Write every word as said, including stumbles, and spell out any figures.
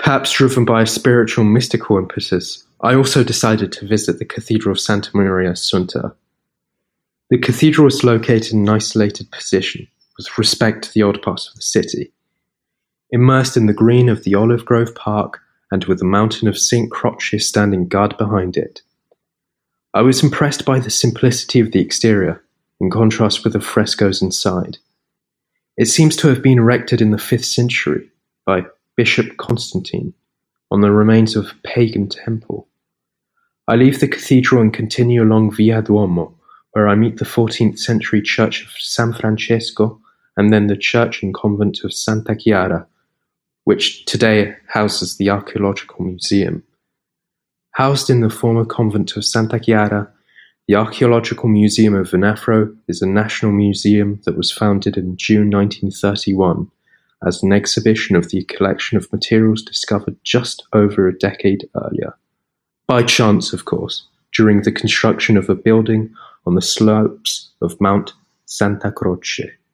Perhaps driven by a spiritual mystical impetus, I also decided to visit the Cathedral of Santa Maria Assunta. The cathedral is located in an isolated position, with respect to the old parts of the city. Immersed in the green of the Olive Grove Park, and with the mountain of Saint Croce standing guard behind it. I was impressed by the simplicity of the exterior, in contrast with the frescoes inside. It seems to have been erected in the fifth century by Bishop Constantine on the remains of a pagan temple. I leave the cathedral and continue along Via Duomo, where I meet the fourteenth century church of San Francesco and then the church and convent of Santa Chiara, which today houses the Archaeological Museum. Housed in the former convent of Santa Chiara, the Archaeological Museum of Venafro is a national museum that was founded in June nineteen thirty-one as an exhibition of the collection of materials discovered just over a decade earlier. By chance, of course, during the construction of a building on the slopes of Mount Santa Croce.